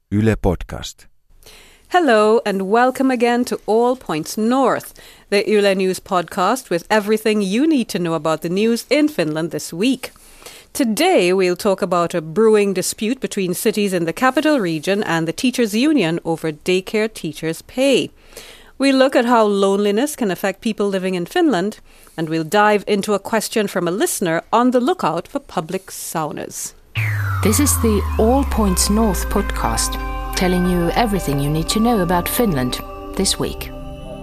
Yle Podcast. Hello and welcome again to All Points North, the Yle News podcast with everything you need to know about the news in Finland this week. Today we'll talk about a brewing dispute between cities in the capital region and the teachers' union over daycare teachers' pay. We'll look at how loneliness can affect people living in Finland, and we'll dive into a question from a listener on the lookout for public saunas. This is the All Points North podcast, telling you everything you need to know about Finland this week.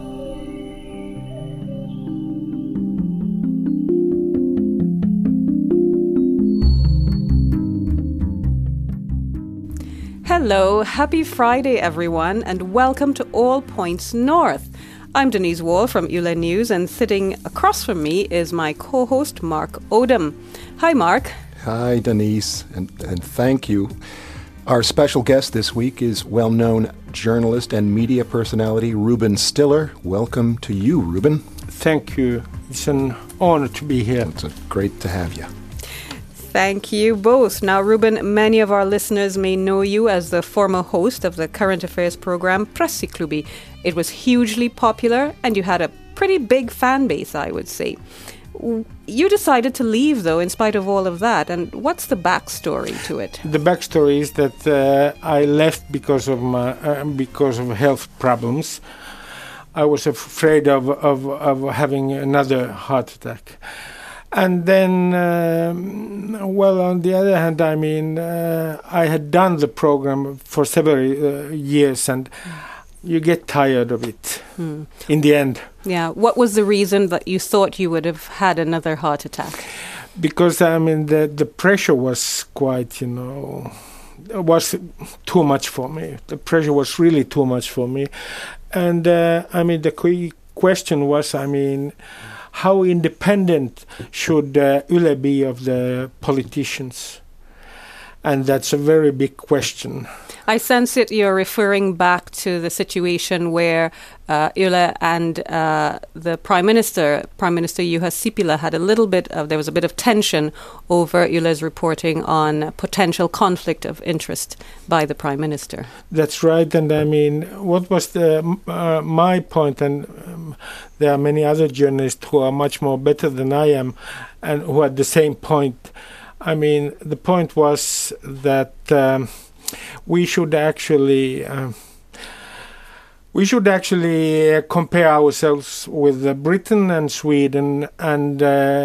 Hello, happy Friday everyone, and welcome to All Points North. I'm Denise Wall from Yle News, and sitting across from me is my co-host Mark Odom. Hi Mark. Hi Denise, and thank you. Our special guest this week is well-known journalist and media personality Ruben Stiller. Welcome to you, Ruben. Thank you. It's an honor to be here. It's great to have you. Thank you both. Now, Ruben, many of our listeners may know you as the former host of the current affairs program Pressiklubi. It was hugely popular and you had a pretty big fan base, I would say. You decided to leave, though, in spite of all of that. And what's the backstory to it? The backstory is that I left because of health problems. I was afraid of having another heart attack. And then, on the other hand, I had done the program for several years, and you get tired of it in the end. Yeah. What was the reason that you thought you would have had another heart attack? Because, the pressure was quite, it was too much for me. The pressure was really too much for me. And, the question was, how independent should Yle be of the politicians? And that's a very big question. I sense it you're referring back to the situation where Yle and the Prime Minister Juha Sipilä, there was a bit of tension over Yle's reporting on potential conflict of interest by the Prime Minister. That's right. And what was my point, and there are many other journalists who are much more better than I am and who had the same point. The point was that we should actually compare ourselves with Britain and Sweden and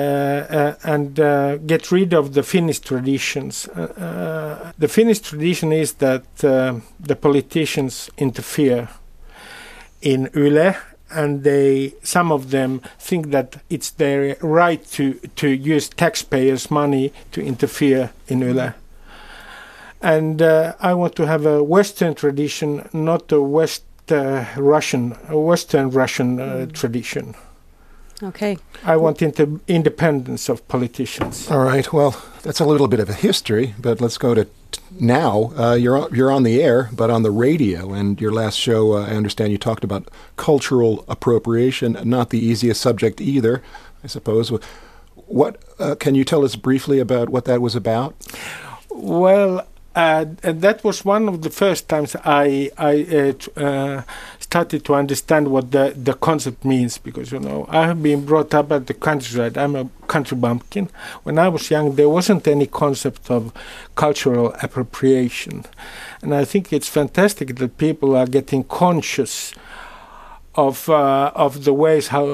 get rid of the Finnish traditions. The Finnish tradition is that the politicians interfere in Yle, and some of them think that it's their right to use taxpayers' money to interfere in Yle. And I want to have a Western tradition, not a Western Russian tradition. Okay. I want independence of politicians. All right. Well, that's a little bit of a history, but let's go to now. You're on the air, but on the radio. And your last show, I understand you talked about cultural appropriation, not the easiest subject either, I suppose. What can you tell us briefly about what that was about? Well, that was one of the first times I started to understand what the concept means, because I have been brought up at the countryside. I'm a country bumpkin. When I was young, there wasn't any concept of cultural appropriation, and I think it's fantastic that people are getting conscious of the ways how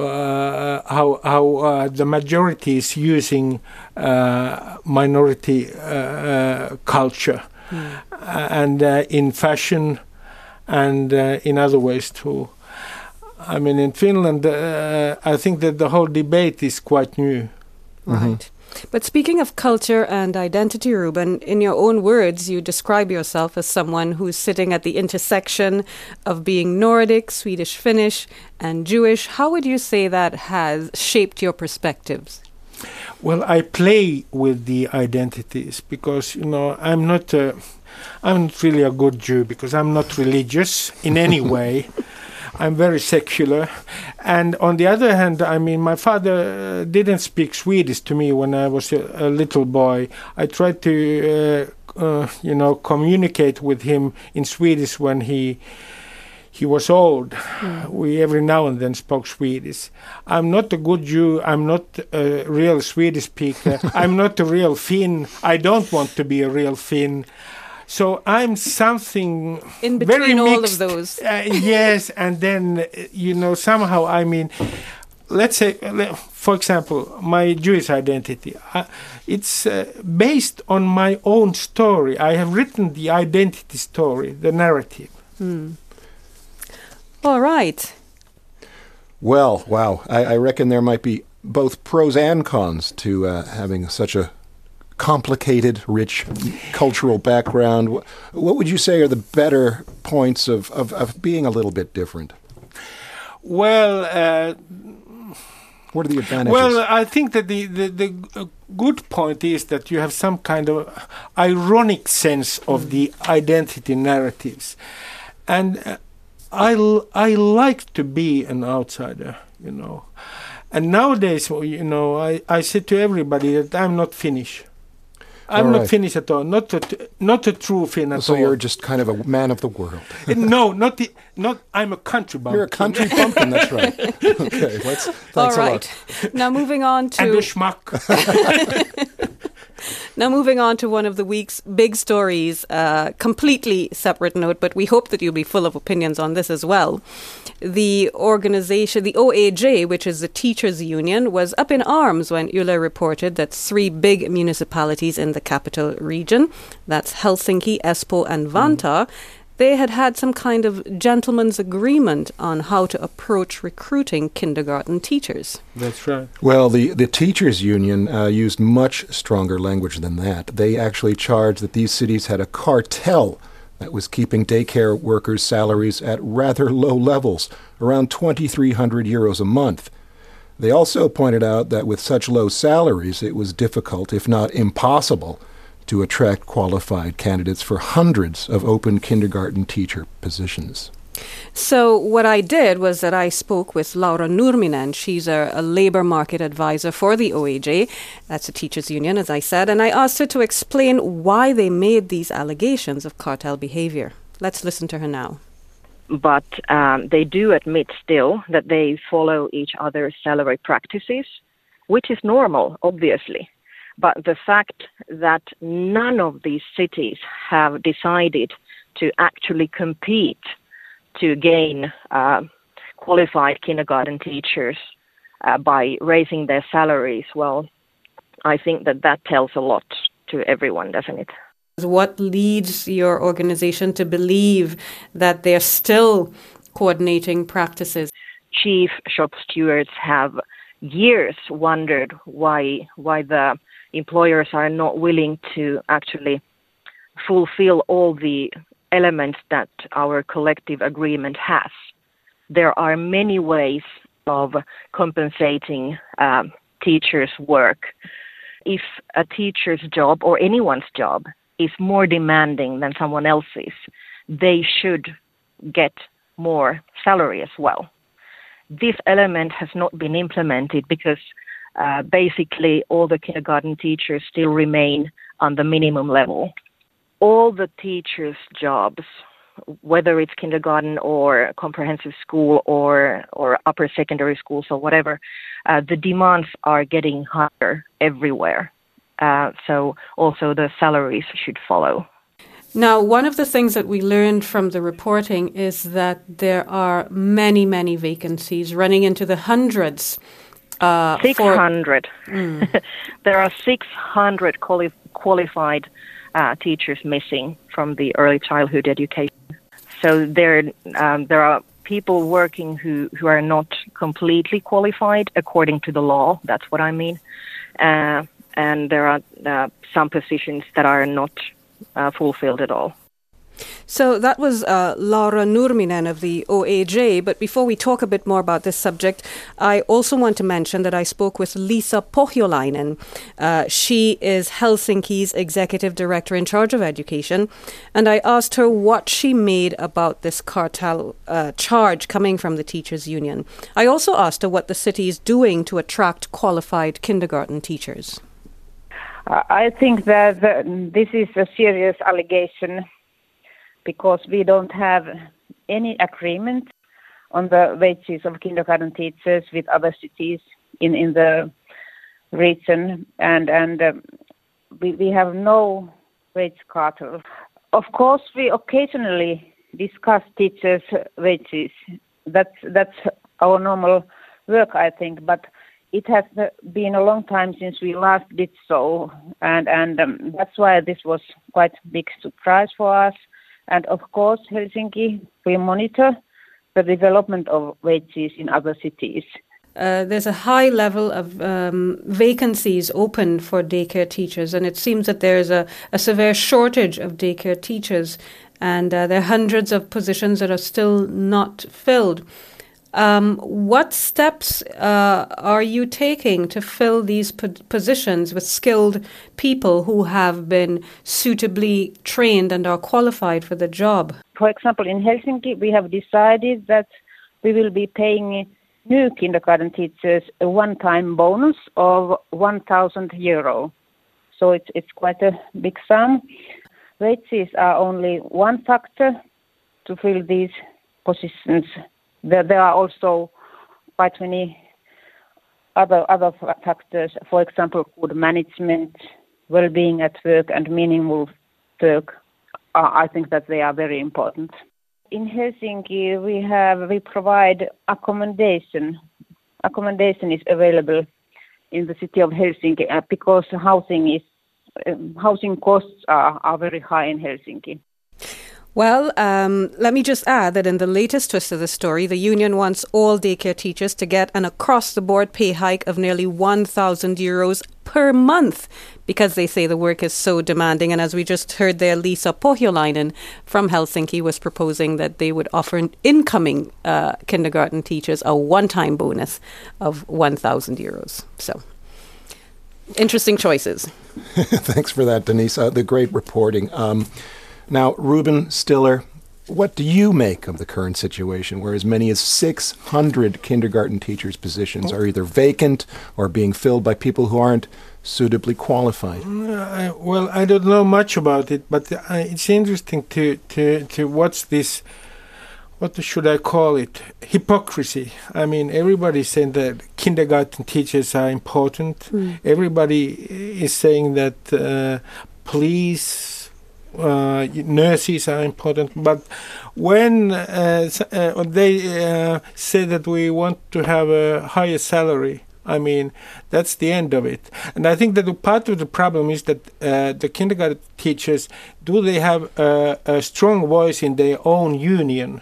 the majority is using minority culture, and in fashion and in other ways too. In Finland, I think that the whole debate is quite new. Right. Mm-hmm. But speaking of culture and identity, Ruben, in your own words, you describe yourself as someone who's sitting at the intersection of being Nordic, Swedish, Finnish, and Jewish. How would you say that has shaped your perspectives? Well, I play with the identities because, I'm not really a good Jew because I'm not religious in any way. I'm very secular. And on the other hand, my father didn't speak Swedish to me when I was a little boy. I tried to communicate with him in Swedish when he was old. We every now and then spoke Swedish. I'm not a good Jew. I'm not a real Swedish speaker. I'm not a real Finn. I don't want to be a real Finn. So I'm something in very between all mixed. of those. Yes, and then, somehow, I mean, let's say, for example, my Jewish identity. It's based on my own story. I have written the identity story, the narrative. All right. Well, wow. I reckon there might be both pros and cons to having such a complicated, rich cultural background. What would you say are the better points of being a little bit different? Well, what are the advantages? Well, I think that the good point is that you have some kind of ironic sense of the identity narratives. And I like to be an outsider, And nowadays, I say to everybody that I'm not Finnish. I'm not Finnish at all. Not a true Finn at all. So you're just kind of a man of the world. No, not. I'm a country bumpkin. You're a country bumpkin. That's right. Okay, thanks all a right. lot. Now moving on to and a schmuck. Now moving on to one of the week's big stories, completely separate note, but we hope that you'll be full of opinions on this as well. The organization, the OAJ, which is the teachers' union, was up in arms when Yle reported that 3 big municipalities in the capital region, that's Helsinki, Espoo and Vantaa, they had some kind of gentleman's agreement on how to approach recruiting kindergarten teachers. That's right. Well, the teachers' union used much stronger language than that. They actually charged that these cities had a cartel that was keeping daycare workers' salaries at rather low levels, around 2,300 euros a month. They also pointed out that with such low salaries, it was difficult, if not impossible, to attract qualified candidates for hundreds of open kindergarten teacher positions. So what I did was that I spoke with Laura Nurminen. She's a labour market advisor for the OAJ. That's a teachers' union, as I said. And I asked her to explain why they made these allegations of cartel behaviour. Let's listen to her now. But they do admit still that they follow each other's salary practices, which is normal, obviously. But the fact that none of these cities have decided to actually compete to gain qualified kindergarten teachers by raising their salaries, well, I think that tells a lot to everyone, doesn't it? What leads your organization to believe that they're still coordinating practices? Chief shop stewards have years wondered why the employers are not willing to actually fulfill all the elements that our collective agreement has. There are many ways of compensating teachers' work. If a teacher's job or anyone's job is more demanding than someone else's, they should get more salary as well. This element has not been implemented because basically all the kindergarten teachers still remain on the minimum level. All the teachers' jobs, whether it's kindergarten or comprehensive school or upper secondary schools or whatever, the demands are getting higher everywhere. So also the salaries should follow. Now, one of the things that we learned from the reporting is that there are many, many vacancies running into the hundreds. 600. There are 600 qualified teachers missing from the early childhood education. So there are people working who are not completely qualified according to the law. That's what I mean. And there are some positions that are not fulfilled at all. So that was Laura Nurminen of the OAJ. But before we talk a bit more about this subject, I also want to mention that I spoke with Lisa Pohjolainen. She is Helsinki's executive director in charge of education. And I asked her what she made about this cartel charge coming from the teachers' union. I also asked her what the city is doing to attract qualified kindergarten teachers. I think that this is a serious allegation because we don't have any agreement on the wages of kindergarten teachers with other cities in the region, and we have no wage cartel. Of course, we occasionally discuss teachers' wages. That's our normal work, I think, but it has been a long time since we last did so, and that's why this was quite a big surprise for us. And of course, Helsinki, we monitor the development of wages in other cities. There's a high level of vacancies open for daycare teachers, and it seems that there's a severe shortage of daycare teachers, and there are hundreds of positions that are still not filled. What steps are you taking to fill these positions with skilled people who have been suitably trained and are qualified for the job? For example, in Helsinki, we have decided that we will be paying new kindergarten teachers a one-time bonus of 1,000 euro. So it's quite a big sum. Wages are only one factor to fill these positions. There are also quite many other factors. For example, good management, well-being at work, and meaningful work. I think that they are very important. In Helsinki, we provide accommodation. Accommodation is available in the city of Helsinki because housing costs are very high in Helsinki. Well, let me just add that in the latest twist of the story, the union wants all daycare teachers to get an across-the-board pay hike of nearly 1,000 euros per month because they say the work is so demanding. And as we just heard there, Liisa Pohjolainen from Helsinki was proposing that they would offer incoming kindergarten teachers a one-time bonus of 1,000 euros. So, interesting choices. Thanks for that, Denise. The great reporting. Now, Ruben Stiller, what do you make of the current situation where as many as 600 kindergarten teachers' positions are either vacant or being filled by people who aren't suitably qualified? Well, I don't know much about it, but it's interesting to watch this, what should I call it, hypocrisy. I mean, everybody's saying that kindergarten teachers are important. Everybody is saying that police, nurses are important, but when they say that we want to have a higher salary, I mean, that's the end of it. And I think that part of the problem is that the kindergarten teachers, do they have a strong voice in their own union?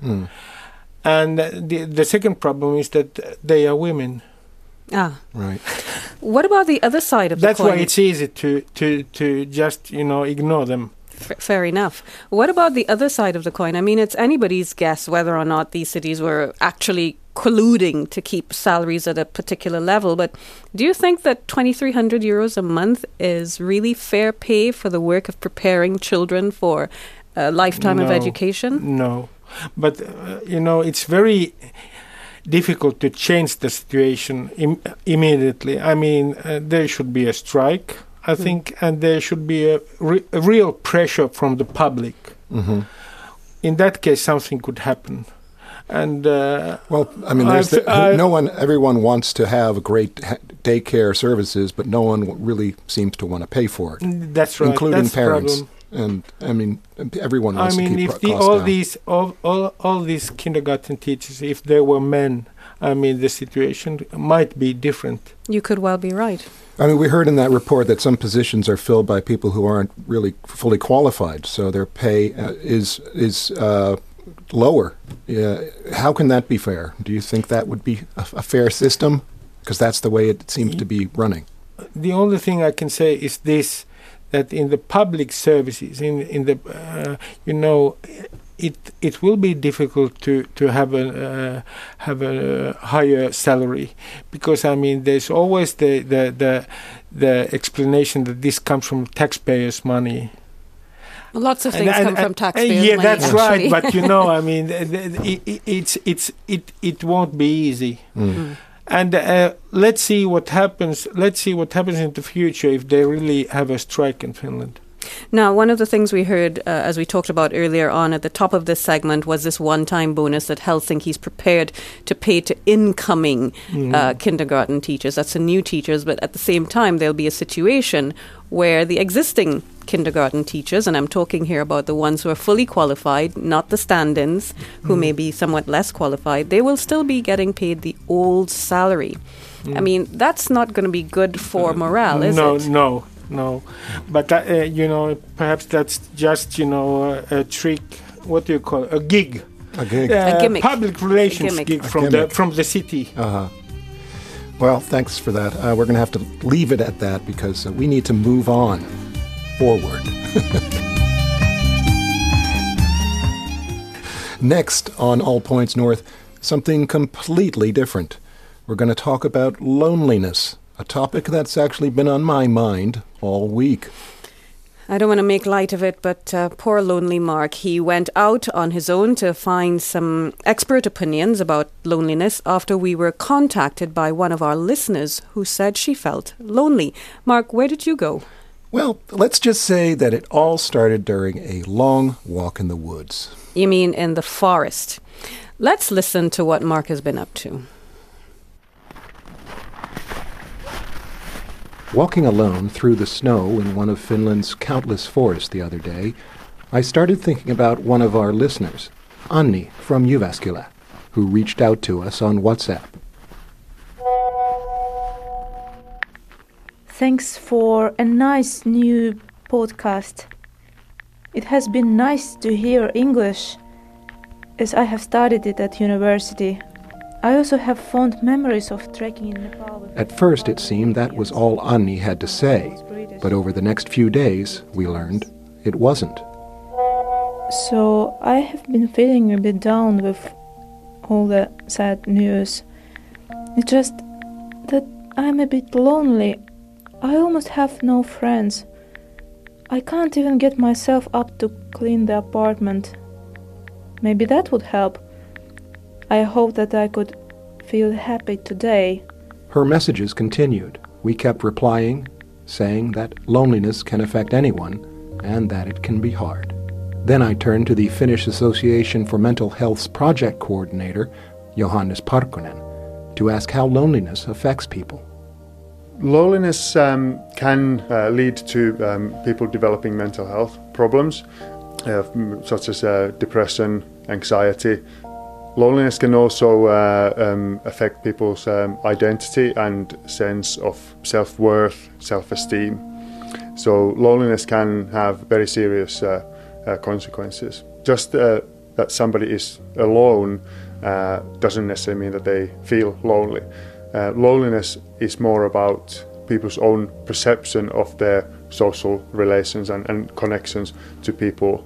And the second problem is that they are women. Ah, right. What about the other side of the coin? That's why it's easy to just ignore them. Fair enough. What about the other side of the coin? I mean, it's anybody's guess whether or not these cities were actually colluding to keep salaries at a particular level. But do you think that 2,300 euros a month is really fair pay for the work of preparing children for a lifetime of education? No. But, it's very difficult to change the situation immediately. I mean, there should be a strike, I think, and there should be a real pressure from the public. Mm-hmm. In that case, something could happen. And well, I mean, everyone wants to have great daycare services, but no one really seems to want to pay for it. That's right, including that's parents. The problem. And I mean, everyone wants to keep costs down. All these kindergarten teachers, if they were men, I mean, the situation might be different. You could well be right. I mean, we heard in that report that some positions are filled by people who aren't really fully qualified, so their pay is lower. How can that be fair? Do you think that would be a fair system? Because that's the way it seems to be running. The only thing I can say is this, that in the public services, it will be difficult to have a higher salary, because I mean there's always the explanation that this comes from taxpayers' money. Lots of things come from taxpayers' money. Yeah, that's actually. right. But I mean, it won't be easy. And let's see what happens. Let's see what happens in the future if they really have a strike in Finland. Now, one of the things we heard, as we talked about earlier on at the top of this segment, was this one-time bonus that Helsinki's prepared to pay to incoming kindergarten teachers. That's the new teachers, but at the same time, there'll be a situation where the existing kindergarten teachers, and I'm talking here about the ones who are fully qualified, not the stand-ins, who may be somewhat less qualified, they will still be getting paid the old salary. I mean, that's not going to be good for morale, is it? No, but perhaps that's just a trick. What do you call it? A gig? A gig. A gimmick. Public relations gig from the city. Well, thanks for that. We're going to have to leave it at that because we need to move on forward. Next on All Points North, something completely different. We're going to talk about loneliness, a topic that's actually been on my mind all week. I don't want to make light of it, but poor lonely Mark. He went out on his own to find some expert opinions about loneliness after we were contacted by one of our listeners who said she felt lonely. Mark, where did you go? Well, let's just say that it all started during a long walk in the woods. You mean in the forest? Let's listen to what Mark has been up to. Walking alone through the snow in one of Finland's countless forests the other day, I started thinking about one of our listeners, Anni from Jyväskylä, who reached out to us on WhatsApp. Thanks for a nice new podcast. It has been nice to hear English, as I have studied it at university. I also have fond memories of trekking in Nepal. At first it seemed that was all Anni had to say, but over the next few days, we learned, it wasn't. So I have been feeling a bit down with all the sad news. It's just that I'm a bit lonely. I almost have no friends. I can't even get myself up to clean the apartment. Maybe that would help. I hope that I could feel happy today. Her messages continued. We kept replying, saying that loneliness can affect anyone and that it can be hard. Then I turned to the Finnish Association for Mental Health's project coordinator, Johannes Parkkonen, to ask how loneliness affects people. Loneliness can lead to people developing mental health problems, such as depression, anxiety. Loneliness can also affect people's identity and sense of self-worth, self-esteem. So loneliness can have very serious consequences. Just that somebody is alone doesn't necessarily mean that they feel lonely. Loneliness is more about people's own perception of their social relations and connections to people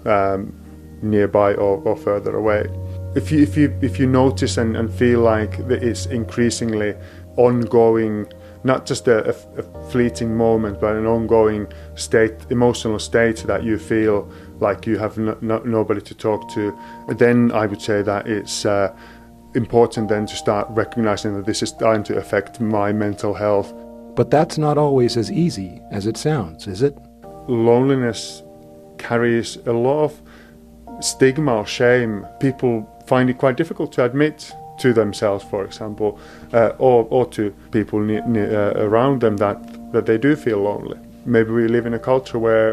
nearby or further away. If you notice and feel like it's increasingly ongoing, not just a fleeting moment, but an ongoing emotional state that you feel like you have nobody to talk to, then I would say that it's important then to start recognizing that this is starting to affect my mental health. But that's not always as easy as it sounds, is it? Loneliness carries a lot of stigma or shame. People find it quite difficult to admit to themselves, for example, or to people around them that they do feel lonely. Maybe we live in a culture where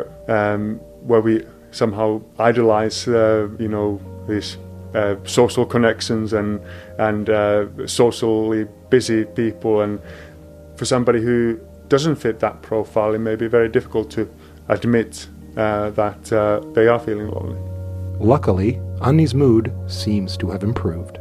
we somehow idolize, these social connections and socially busy people, and for somebody who doesn't fit that profile, it may be very difficult to admit that they are feeling lonely. Luckily, Anni's mood seems to have improved.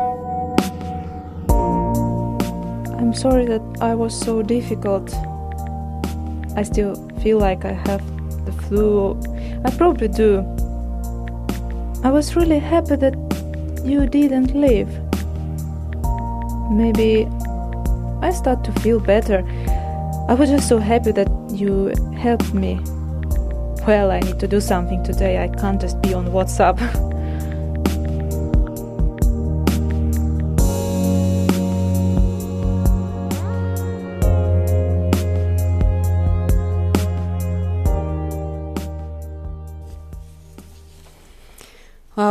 I'm sorry that I was so difficult. I still feel like I have the flu. I probably do. I was really happy that you didn't leave. Maybe I start to feel better. I was just so happy that you helped me. Well, I need to do something today. I can't just be on WhatsApp.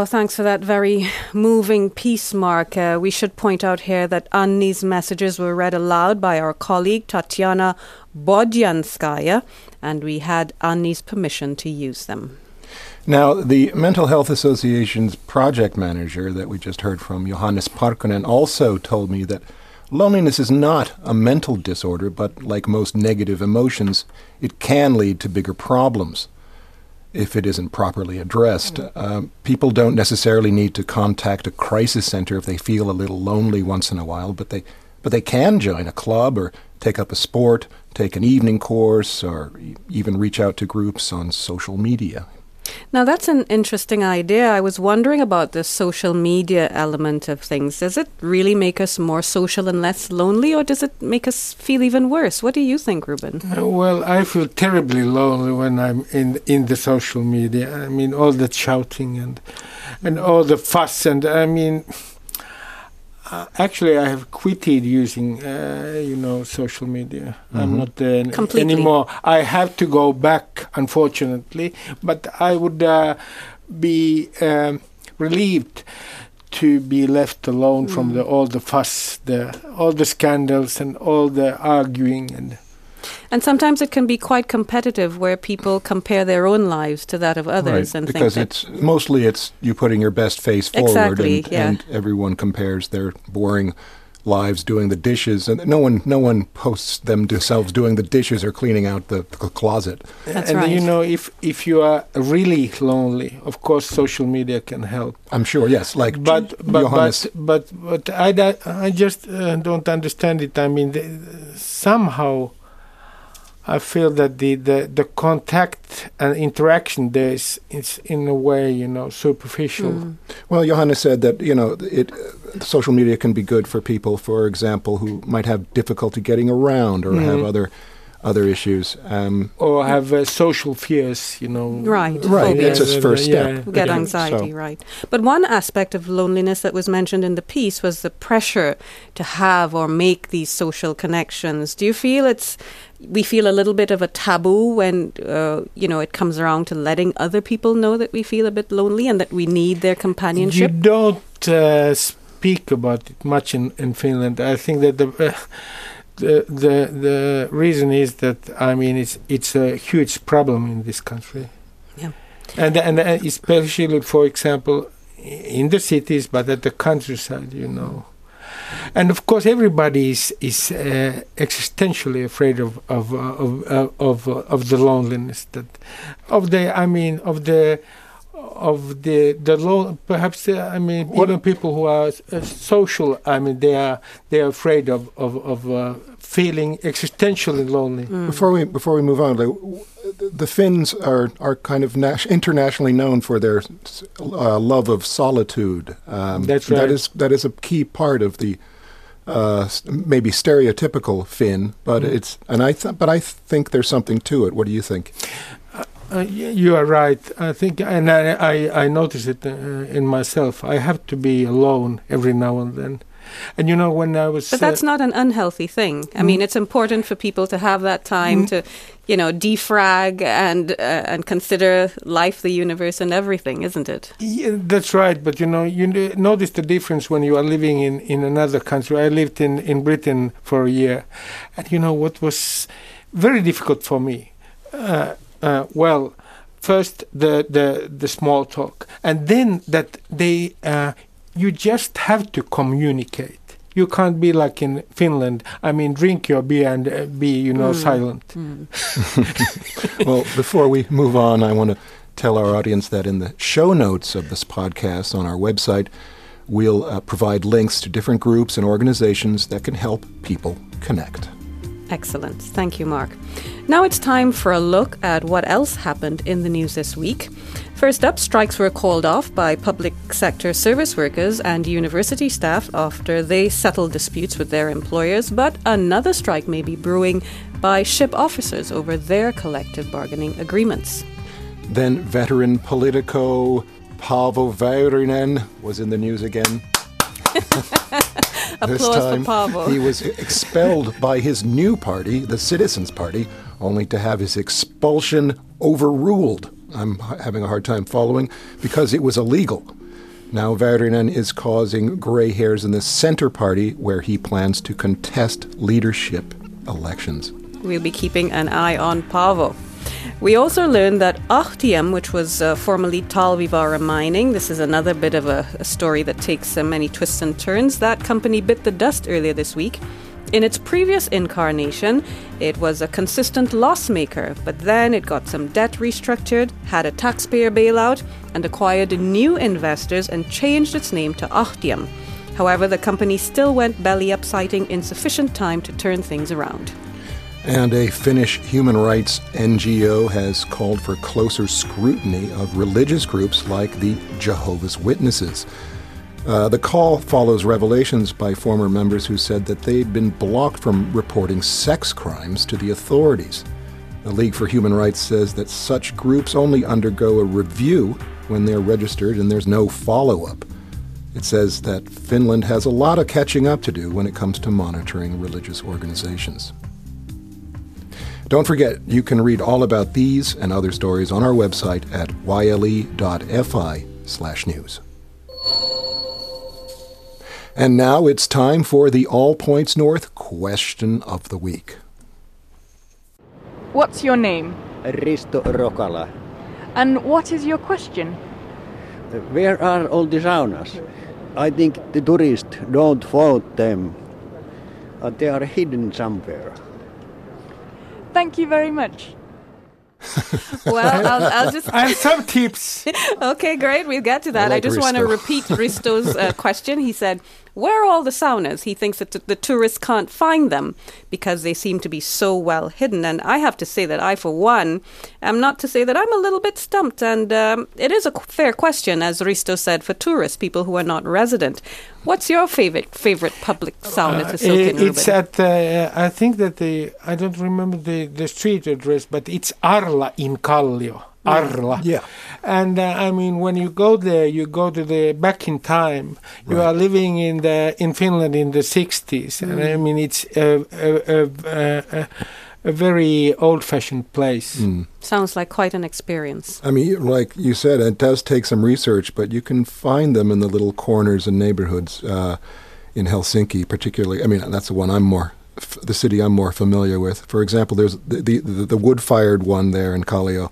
Oh, thanks for that very moving piece, Mark. We should point out here that Anni's messages were read aloud by our colleague Tatiana Bodyanskaya, and we had Anni's permission to use them. Now, the Mental Health Association's project manager that we just heard from, Johannes Parkkonen, also told me that loneliness is not a mental disorder, but like most negative emotions, it can lead to bigger problems if it isn't properly addressed. People don't necessarily need to contact a crisis center if they feel a little lonely once in a while, but they can join a club or take up a sport, take an evening course, or even reach out to groups on social media. Now, that's an interesting idea. I was wondering about the social media element of things. Does it really make us more social and less lonely, or does it make us feel even worse? What do you think, Ruben? Well, I feel terribly lonely when I'm in the social media. I mean, all that shouting and all the fuss. And I mean, actually, I have quitted using, social media. I'm not there anymore. I have to go back, unfortunately, but I would be relieved to be left alone from all the fuss, all the scandals, and all the arguing. And sometimes it can be quite competitive, where people compare their own lives to that of others, right, and because think it's mostly you putting your best face forward, exactly, and everyone compares their boring lives doing the dishes, and no one posts themselves doing the dishes or cleaning out the closet. That's and right. if you are really lonely, of course, social media can help. I'm sure, yes. Like, but Johannes. But I just don't understand it. I mean, somehow I feel that the contact and interaction there is in a way, superficial. Well, Johannes said that, social media can be good for people, for example, who might have difficulty getting around or have other issues. Or have social fears, Right. Right, it's a first step. Get anxiety, right. But one aspect of loneliness that was mentioned in the piece was the pressure to have or make these social connections. Do you feel we feel a little bit of a taboo when, it comes around to letting other people know that we feel a bit lonely and that we need their companionship? You don't speak about it much in Finland. I think that the reason is that, I mean, it's a huge problem in this country. Yeah. And especially, for example, in the cities, but at the countryside, And of course, everybody is existentially afraid of the loneliness perhaps even people who are social. I mean, they are afraid of feeling existentially lonely. Before we move on, the Finns are kind of internationally known for their love of solitude. That's right. That is a key part of the maybe stereotypical Finn, but I think there's something to it. What do you think? You are right. I think, and I notice it in myself. I have to be alone every now and then. And when I was... But that's not an unhealthy thing. I mean, it's important for people to have that time to, defrag and consider life, the universe, and everything, isn't it? Yeah, that's right. But, you notice the difference when you are living in another country. I lived in Britain for a year. And, what was very difficult for me? Well, first the small talk, and then that you just have to communicate. You can't be like in Finland. I mean, drink your beer and be, silent. Well, before we move on, I want to tell our audience that in the show notes of this podcast on our website, we'll provide links to different groups and organizations that can help people connect. Excellent. Thank you, Mark. Now it's time for a look at what else happened in the news this week. First up, strikes were called off by public sector service workers and university staff after they settled disputes with their employers, but another strike may be brewing by ship officers over their collective bargaining agreements. Then veteran Politico Paavo Väyrynen was in the news again. Applause this time, for Paavo. He was expelled by his new party, the Citizens Party, only to have his expulsion overruled. I'm having a hard time following, because it was illegal. Now Väyrynen is causing gray hairs in the Centre Party, where he plans to contest leadership elections. We'll be keeping an eye on Paavo. We also learned that Ahtiam, which was formerly Talvivaara Mining, this is another bit of a story that takes many twists and turns. That company bit the dust earlier this week. In its previous incarnation, it was a consistent loss maker, but then it got some debt restructured, had a taxpayer bailout, and acquired new investors and changed its name to Ahtiam. However, the company still went belly up, citing insufficient time to turn things around. And a Finnish human rights NGO has called for closer scrutiny of religious groups like the Jehovah's Witnesses. The call follows revelations by former members who said that they'd been blocked from reporting sex crimes to the authorities. The League for Human Rights says that such groups only undergo a review when they're registered and there's no follow-up. It says that Finland has a lot of catching up to do when it comes to monitoring religious organizations. Don't forget, you can read all about these and other stories on our website at yle.fi/news. And now it's time for the All Points North Question of the Week. What's your name? Risto Rokala. And what is your question? Where are all the saunas? I think the tourists don't vote them. They are hidden somewhere. Thank you very much. Well, I'll just... I have some tips. Okay, great. We'll get to that. Like I just want to repeat Risto's question. He said, where are all the saunas? He thinks that the tourists can't find them because they seem to be so well hidden. And I have to say that I, for one, am not to say that I'm a little bit stumped. And it is a fair question, as Risto said, for tourists, people who are not resident. What's your favorite public sauna to soak in, It's Ruben? at, I think that I don't remember the street address, but it's Arla in Kallio. Arla. Yeah. And I mean, when you go there, you go to the back in time. You are living in Finland in the 60s. And I mean, it's a very old-fashioned place. Sounds like quite an experience. I mean, like you said, it does take some research, but you can find them in the little corners and neighborhoods in Helsinki, particularly. I mean, that's the one the city I'm more familiar with. For example, there's the wood-fired one there in Kallio.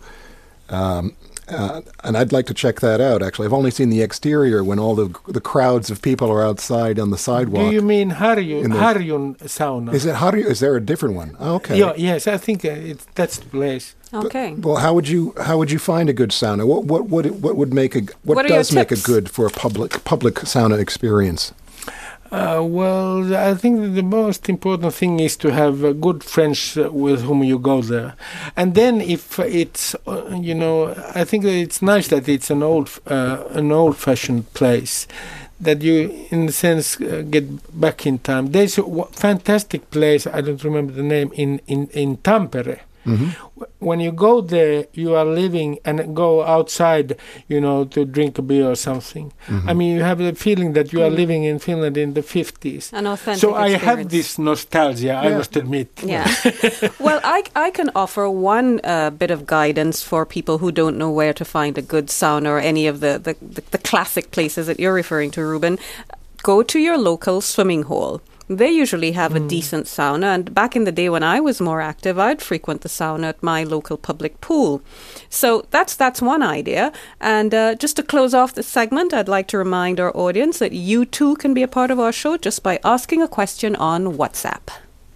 And I'd like to check that out, actually. I've only seen the exterior when all the crowds of people are outside on the sidewalk. Do you mean Harjun sauna? Is it Harju? Is there a different one? Oh, okay. Yeah, yes, I think that's the place. Okay. Well, how would you find a good sauna? What does make a good for a public sauna experience? Well, I think that the most important thing is to have good friends with whom you go there. And then if it's, I think that it's nice that it's an old-fashioned place, that you, in a sense, get back in time. There's a fantastic place, I don't remember the name, in Tampere. Mm-hmm. When you go there, you are living and go outside, to drink a beer or something. Mm-hmm. I mean, you have the feeling that you are living in Finland in the 50s. An authentic So I experience. have this nostalgia, I must admit. Yeah. Well, I can offer one bit of guidance for people who don't know where to find a good sauna or any of the classic places that you're referring to, Ruben. Go to your local swimming hole. They usually have a decent sauna, and back in the day when I was more active, I'd frequent the sauna at my local public pool. So that's one idea. And just to close off this segment, I'd like to remind our audience that you too can be a part of our show just by asking a question on WhatsApp.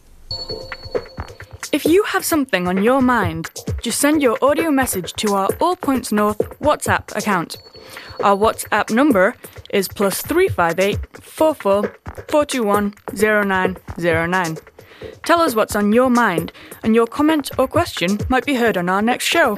If you have something on your mind, just send your audio message to our All Points North WhatsApp account. Our WhatsApp number is +358 44 421 0909. Tell us what's on your mind, and your comment or question might be heard on our next show.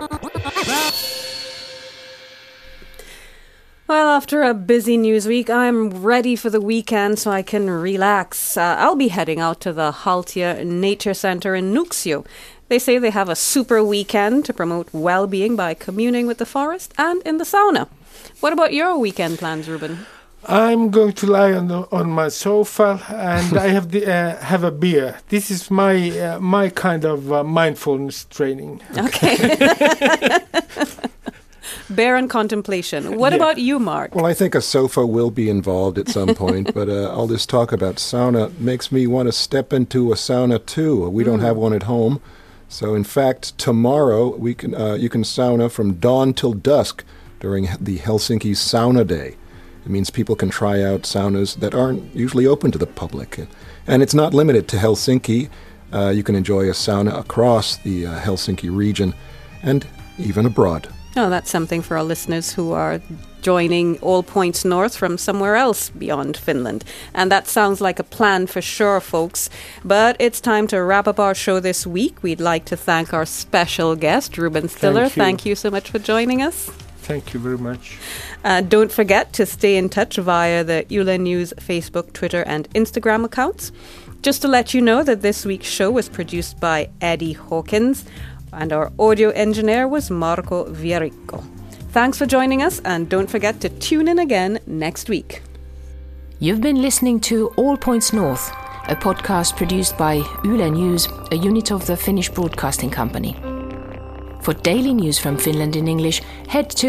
Well, after a busy news week, I'm ready for the weekend so I can relax. I'll be heading out to the Haltia Nature Center in Nuuksio. They say they have a super weekend to promote well-being by communing with the forest and in the sauna. What about your weekend plans, Ruben? I'm going to lie on my sofa and I have a beer. This is my kind of mindfulness training. Okay. barren contemplation. What about you, Mark? Well, I think a sofa will be involved at some point, but all this talk about sauna makes me want to step into a sauna too. We don't have one at home. So, in fact, tomorrow you can sauna from dawn till dusk during the Helsinki Sauna Day. It means people can try out saunas that aren't usually open to the public. And it's not limited to Helsinki. You can enjoy a sauna across the Helsinki region and even abroad. Oh, that's something for our listeners who are joining All Points North from somewhere else beyond Finland. And that sounds like a plan for sure, folks. But it's time to wrap up our show this week. We'd like to thank our special guest, Ruben Stiller. Thank you so much for joining us. Thank you very much. Don't forget to stay in touch via the Yle News Facebook, Twitter and Instagram accounts. Just to let you know that this week's show was produced by Eddie Hawkins and our audio engineer was Marco Vierikko. Thanks for joining us and don't forget to tune in again next week. You've been listening to All Points North, a podcast produced by Yle News, a unit of the Finnish Broadcasting Company. For daily news from Finland in English, head to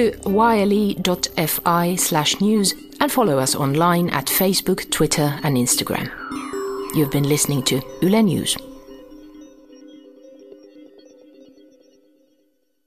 yle.fi/news and follow us online at Facebook, Twitter and Instagram. You've been listening to Yle News.